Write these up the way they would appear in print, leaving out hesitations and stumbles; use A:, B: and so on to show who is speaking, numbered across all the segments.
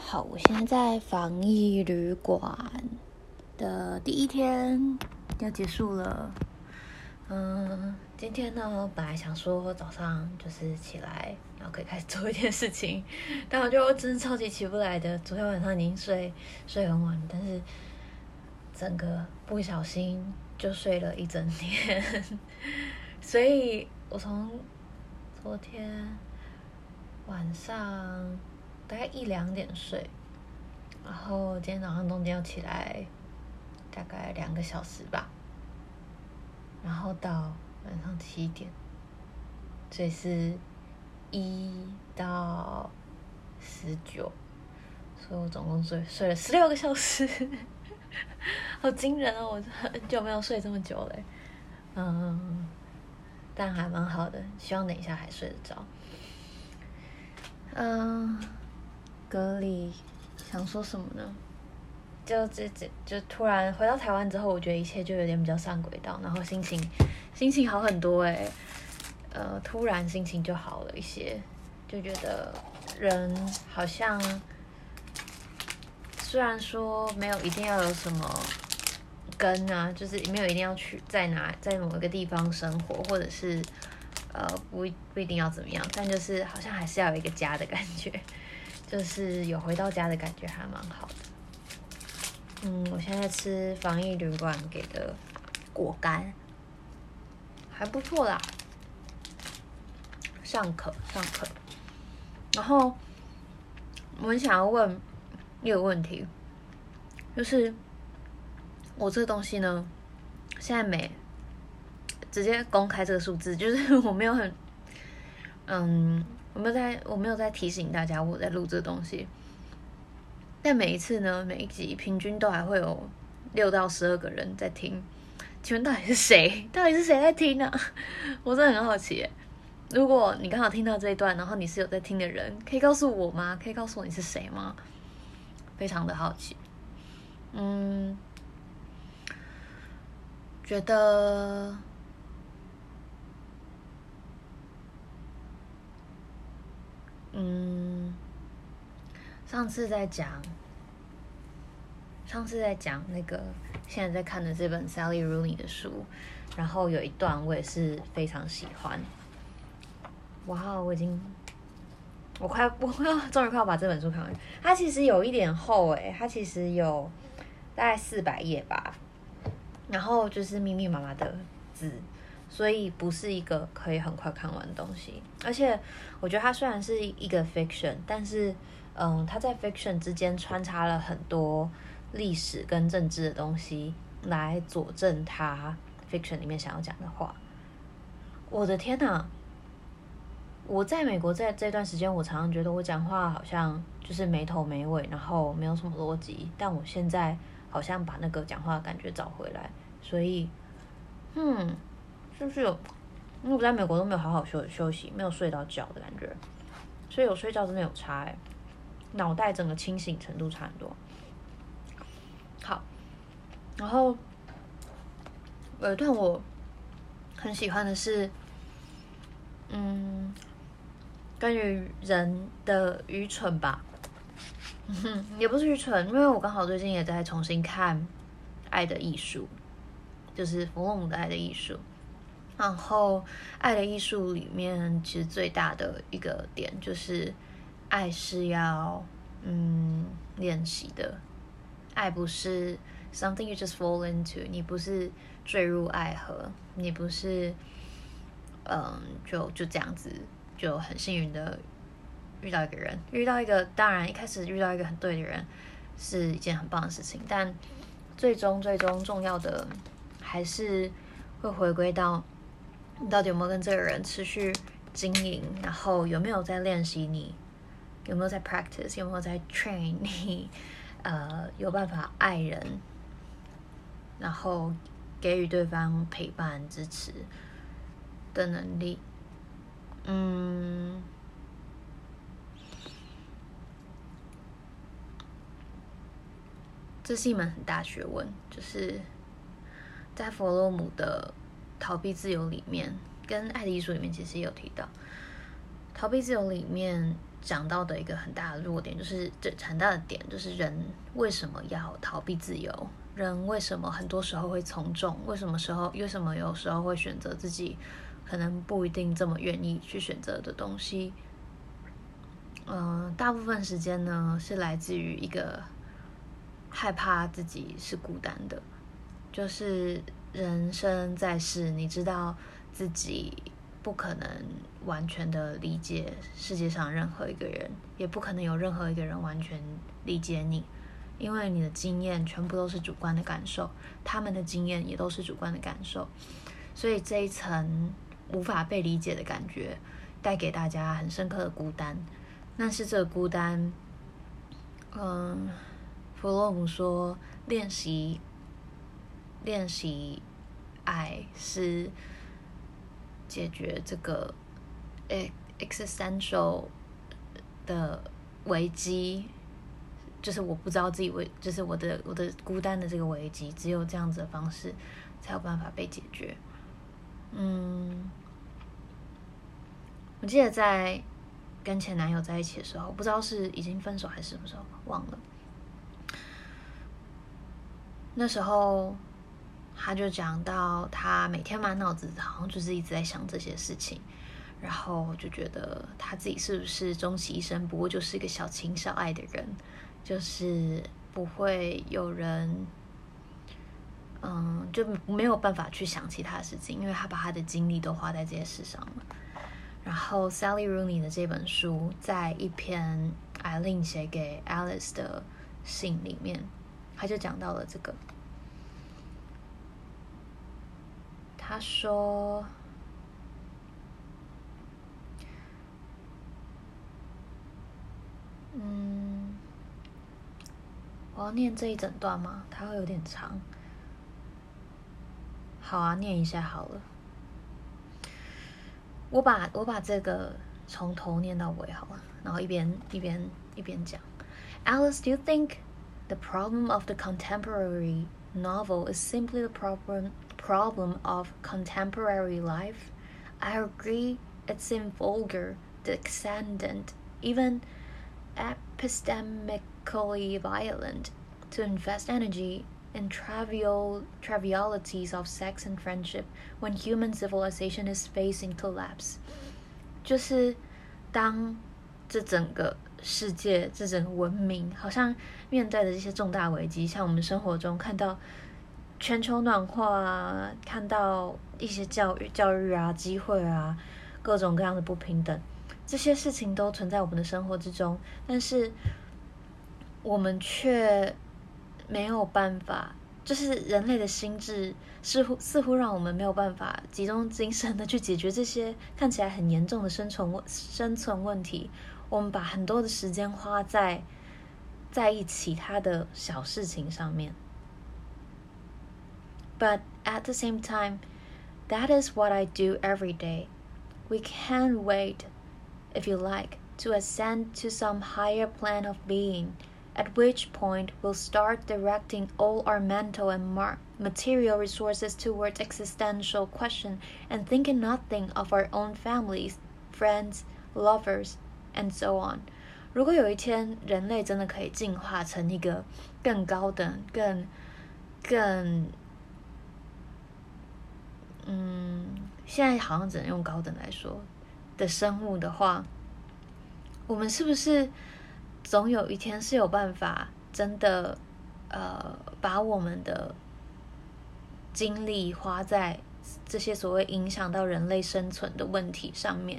A: 好，我現在在防疫旅館的第一天要結束了。今天呢，本來想說早上就是起來，然後可以開始做一件事情，但我就真的超級起不來的。昨天晚上已經睡很晚，但是整個不小心就睡了一整天，所以我從昨天晚上大概1-2點睡，然後今天早上中間要起來大概2個小時吧，然後到晚上7點，所以是1到19，所以我總共睡了16個小時，好驚人哦！我很久沒有睡這麼久了，但還蠻好的，希望等一下還睡得着。隔離想說什麼呢？就突然回到台灣之後，我覺得一切就有點比較上軌道，然後心情好很多突然心情就好了一些，就覺得人好像雖然說沒有一定要有什麼根啊，就是沒有一定要去在某一個地方生活，或者是不一定要怎麼樣，但就是好像還是要有一個家的感覺，就是有回到家的感覺還蠻好的。我現在吃防疫旅館給的果乾，還不錯啦，尚可。然後我很想要問一個問題，就是我這個東西呢，現在沒直接公開這個數字，就是我沒有很我沒有在提醒大家我在錄這個東西。但每一次呢，每一集平均都還會有6到12個人在聽，請問到底是誰？到底是誰在聽呢？我真的很好奇耶。如果你剛好聽到這一段，然後你是有在聽的人，可以告訴我嗎？可以告訴我你是誰嗎？非常的好奇。覺得上次在講那個現在在看的這本 Sally Rooney 的書，然後有一段我也是非常喜歡。哇，我終於快要把這本書看完。它其實有一點厚它其實有大概400頁吧，然後就是密密麻麻的字，所以不是一個可以很快看完的東西。而且我覺得它雖然是一個 fiction， 但是它在 fiction 之間穿插了很多歷史跟政治的東西來佐證他 fiction 裡面想要講的話。我的天哪！我在美國在這段時間，我常常覺得我講話好像就是沒頭沒尾，然後沒有什麼邏輯。但我現在好像把那個講話的感覺找回來，所以是不是有？因為我在美國都沒有好好休息，沒有睡到覺的感覺，所以有睡覺真的有差腦袋整個清醒程度差很多。好，然後有一段我很喜歡的是，關於人的愚蠢吧，也不是愚蠢，因為我剛好最近也在重新看《愛的藝術》，就是弗洛姆的《愛的藝術》。然後《愛的藝術》裡面其實最大的一個點就是，愛是要練習的。愛不是 something you just fall into， 你不是墜入愛河，你不是就這樣子就很幸運的遇到一個當然一開始遇到一個很對的人是一件很棒的事情，但最終重要的還是會回歸到你到底有沒有跟這個人持續經營，然後有沒有在練習你，有沒有在 practice， 有沒有在 train 你有辦法愛人，然後給予對方陪伴支持的能力。這是一門很大學問，就是在弗洛姆的逃避自由裡面，跟愛的藝術裡面其實也有提到，逃避自由裡面講到的一個很大的弱點，就是很大的點，就是人為什麼要逃避自由？人為什麼很多時候會從眾？為什麼有時候會選擇自己可能不一定這麼願意去選擇的東西？大部分時間呢是來自於一個害怕自己是孤單的，就是人生在世，你知道自己不可能完全的理解世界上任何一個人，也不可能有任何一個人完全理解你，因為你的經驗全部都是主觀的感受，他們的經驗也都是主觀的感受，所以這一層無法被理解的感覺帶給大家很深刻的孤單。但是這個孤單，弗洛姆說練習愛是解決這個existential 的危機，就是我不知道自己就是我的孤單的這個危機，只有這樣子的方式才有辦法被解決。我記得在跟前男友在一起的時候，不知道是已經分手還是什麼時候，忘了。那時候他就講到，他每天滿腦子好像就是一直在想這些事情，然後就覺得他自己是不是終其一生不過就是一個小情小愛的人，就是不會有人，就沒有辦法去想其他事情，因為他把他的精力都花在這些事上了。然後 Sally Rooney 的這本書，在一篇 Eileen 寫給 Alice 的信裡面，他就講到了這個。他說，我要念這一整段嗎？它會有點長。好啊，念一下好了。我把這個從頭念到尾好了，然後一邊講。Alice, do you think the problem of the contemporary novel is simply the problem of contemporary life? I agree it's vulgar, descendant, even epistemically violent, to invest energy in trivialities of sex and friendship when human civilization is facing collapse. 就是當這整個世界、這整個文明好像面對的這些重大危機，像我們生活中看到全球暖化啊，看到一些教育啊、機會啊，各種各樣的不平等，這些事情都存在我們的生活之中，但是我們卻沒有辦法，就是人類的心智似乎讓我們沒有辦法集中精神的去解決這些看起來很嚴重的生存問題。我們把很多的時間花在意其他的小事情上面。But at the same time, that is what I do every day. We can't wait, if you like, to ascend to some higher plane of being.At which point we'll start directing all our mental and material resources towards existential question and thinking nothing of our own families, friends, lovers, and so on. 如果有一天人類真的可以進化成一個更高等、更現在好像只能用高等來說的生物的話，我們是不是總有一天是有辦法真的把我們的精力花在這些所謂影響到人類生存的問題上面，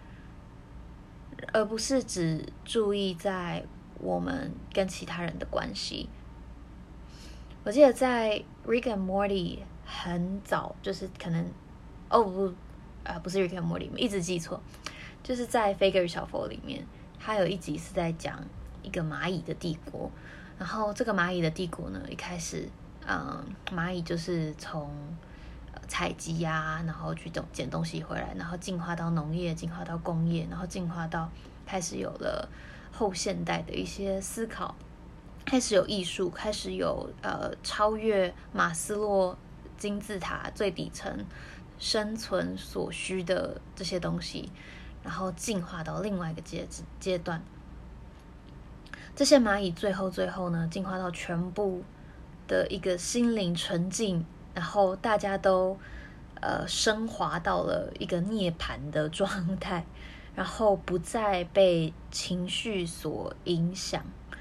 A: 而不是只注意在我們跟其他人的關係。我記得在 Rick and Morty 很早，就是可能不是 Rick and Morty， 一直記錯，就是在《飛哥與小佛》裡面，他有一集是在講一個螞蟻的帝國，然後這個螞蟻的帝國呢，一開始，螞蟻就是從採集啊，然後去撿東西回來，然後進化到農業，進化到工業，然後進化到開始有了後現代的一些思考，開始有藝術，開始有超越馬斯洛金字塔最底層生存所需的這些東西。 然後進化到另外一個階段。這些螞蟻最後呢，進化到全部的一個心靈純淨，然後大家都升華到了一個涅槃的狀態，然後不再被情緒所影響。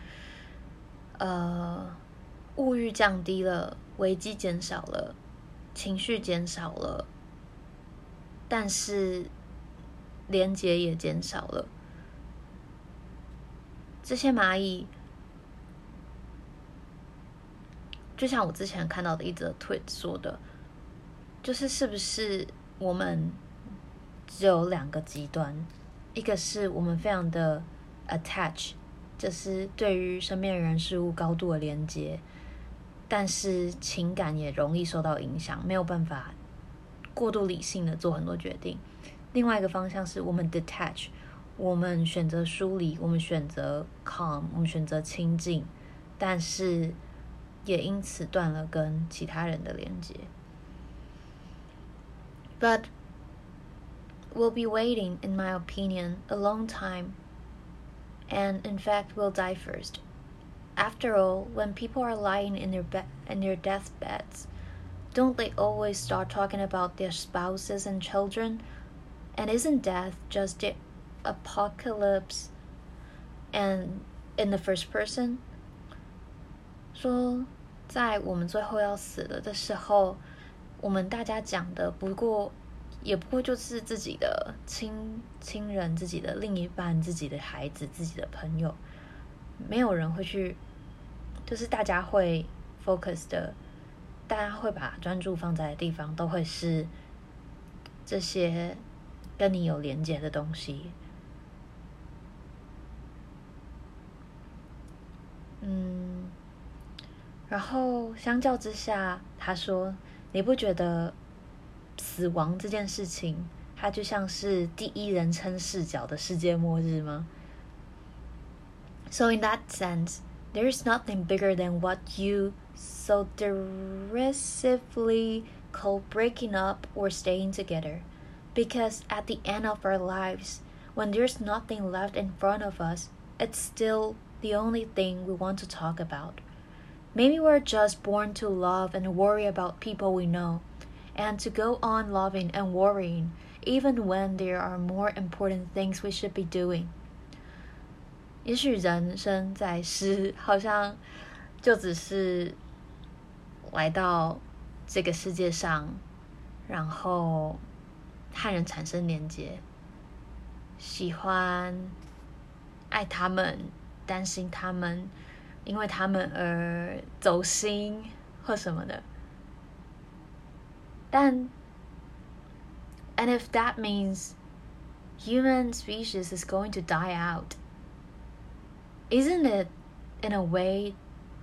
A: 物欲降低了，危機減少了，情緒減少了，但是連結也減少了。這些螞蟻，就像我之前看到的一則 tweet 說的，就是是不是我們只有兩個極端，一個是我們非常的 attach， 就是對於身邊的人事物高度的連接，但是情感也容易受到影響，沒有辦法過度理性的做很多決定。另外一個方向是我們 detach， 我們選擇疏離，我們選擇 calm， 我們選擇親近，但是也因此斷了跟其他人的連接。But we'll be waiting, in my opinion, a long time, and in fact we'll die first. After all, when people are lying in their deathbeds, don't they always start talking about their spouses and children? And isn't death just the apocalypse and in the first person? 說在我們最後要死了的時候，我們大家講的也不過就是自己的親人、自己的另一半、自己的孩子、自己的朋友，沒有人會去，就是大家會 focus 的，大家會把專注放在的地方，都會是這些跟你有連接的東西。然後相較之下，他說，你不覺得死亡這件事情，它就像是第一人稱視角的世界末日嗎？ So in that sense, there is nothing bigger than what you so derisively call breaking up or staying together. Because at the end of our lives, when there's nothing left in front of us, it's still the only thing we want to talk about. Maybe we're just born to love and worry about people we know, and to go on loving and worrying, even when there are more important things we should be doing. 也許人生在世，好像就只是來到這個世界上，然後和人產生連結，喜歡愛他們，擔心他們，因為他們而走心或什麼的。And if that means human species is going to die out, isn't it, in a way,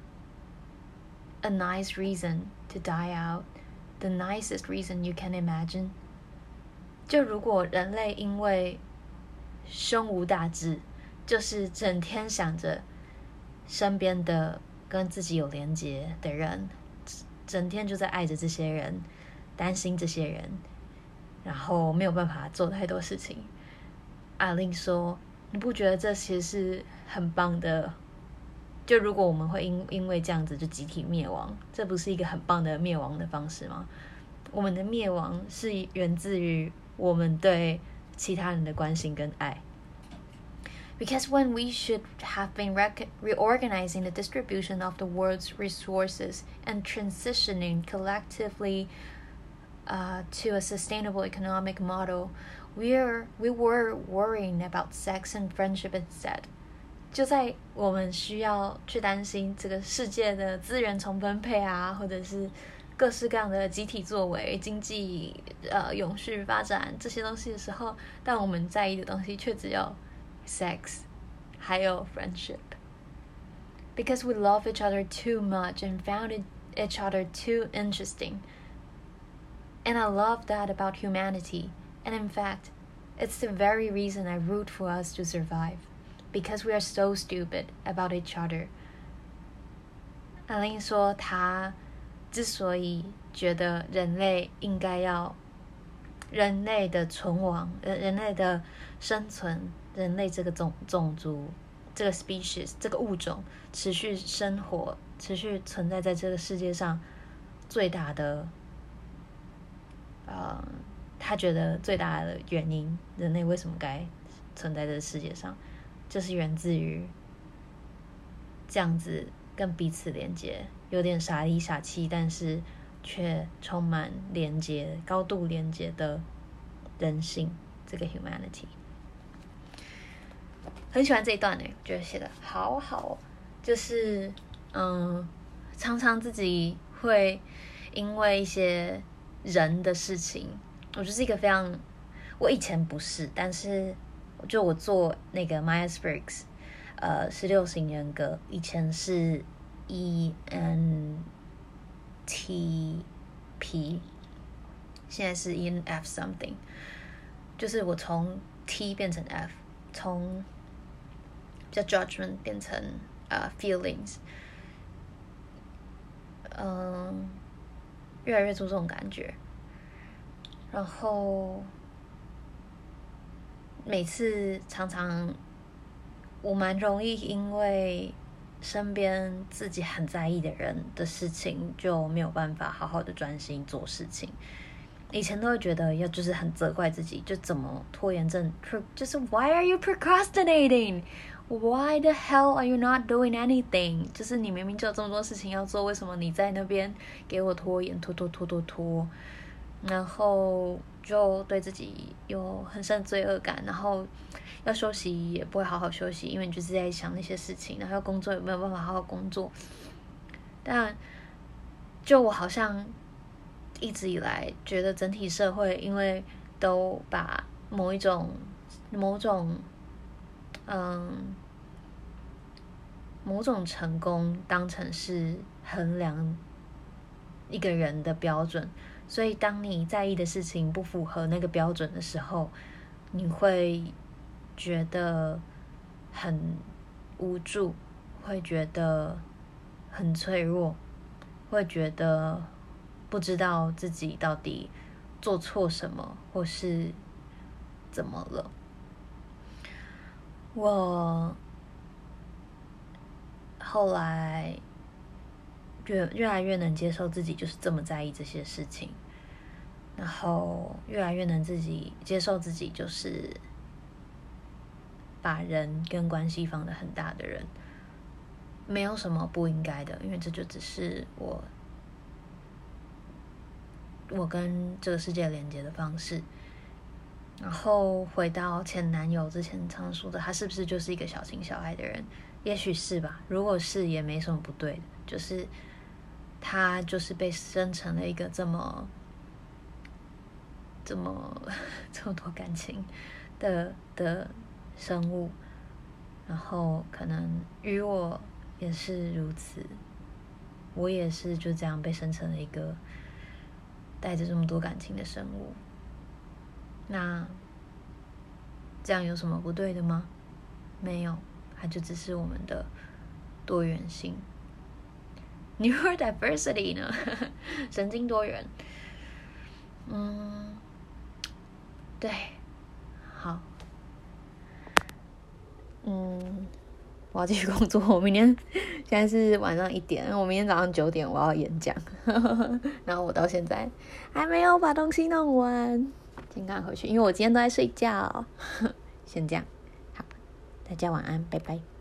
A: a nice reason to die out? The nicest reason you can imagine? 就如果人類因為胸無大志，就是整天想着身邊的跟自己有連結的人，整天就在愛着這些人，擔心這些人，然後沒有辦法做太多事情。阿玲說，你不覺得這其實是很棒的？就如果我們會因為這樣子就集體滅亡，這不是一個很棒的滅亡的方式嗎？我們的滅亡是源自於我們對其他人的關心跟愛。Because when we should have been reorganizing the distribution of the world's resources and transitioning collectively to a sustainable economic model, we were worrying about sex and friendship instead. 就在我們需要去擔心這個世界的資源重分配啊，或者是各式各樣的集體作為、經濟永續發展這些東西的時候，但我們在意的東西卻只有 sex 還有 friendship. Because we love each other too much and found each other too interesting. And I love that about humanity. And in fact, it's the very reason I root for us to survive. Because we are so stupid about each other. 阿玲說，她之所以覺得人類的存亡，人類的生存，人類這個種族，這個 species 這個物種持續生活、持續存在在這個世界上最大的，他覺得最大的原因，人類為什麼該存在這個世界上，就是源自於這樣子跟彼此連接，有點傻裡傻氣，但是卻充滿連接、高度連接的人性，這個 humanity。很喜歡這一段呢，我覺得寫得好好，就是常常自己會因為一些人的事情，我就是一個非常，我以前不是，但是就我做那個 Myers-Briggs 16型人格，以前是 ENTP， 現在是 ENF something， 就是我從 T 變成 F， 從比較 judgment 變成feelings， 越來越注重感覺，然後每次常常我蠻容易因為身邊自己很在意的人的事情就沒有辦法好好的專心做事情。以前都會覺得就是很責怪自己，就怎麼拖延症，就是 Why are you procrastinating? Why the hell are you not doing anything? 就是你明明就有這麼多事情要做，為什麼你在那邊給我拖延，拖，然後就對自己有很深罪惡感，然後要休息也不會好好休息，因為你就是在想那些事情，然後要工作也沒有辦法好好工作。但就我好像一直以來覺得整體社會因為都把某種成功當成是衡量一個人的標準，所以當你在意的事情不符合那個標準的時候，你會覺得很無助，會覺得很脆弱，會覺得不知道自己到底做錯什麼或是怎麼了。我後來越來越能接受自己就是這麼在意這些事情，然後越來越能接受自己就是把人跟關係放得很大的人，沒有什麼不應該的，因為這就只是我跟這個世界連接的方式。然後回到前男友之前常說的，他是不是就是一個小情小愛的人？也許是吧，如果是也沒什麼不對的，就是他就是被生成了一個這麼多感情的生物，然後可能與我也是如此，我也是就這樣被生成了一個帶着這麼多感情的生物。那這樣有什麼不對的嗎？沒有，它就只是我們的多元性 ，neurodiversity 呢，神經多元。对，好，我要繼續工作。我明天現在是晚上1點，我明天早上9點我要演講，然後我到現在還沒有把東西弄完。先趕回去，因為我今天都在睡覺。先這樣，好，大家晚安，拜拜。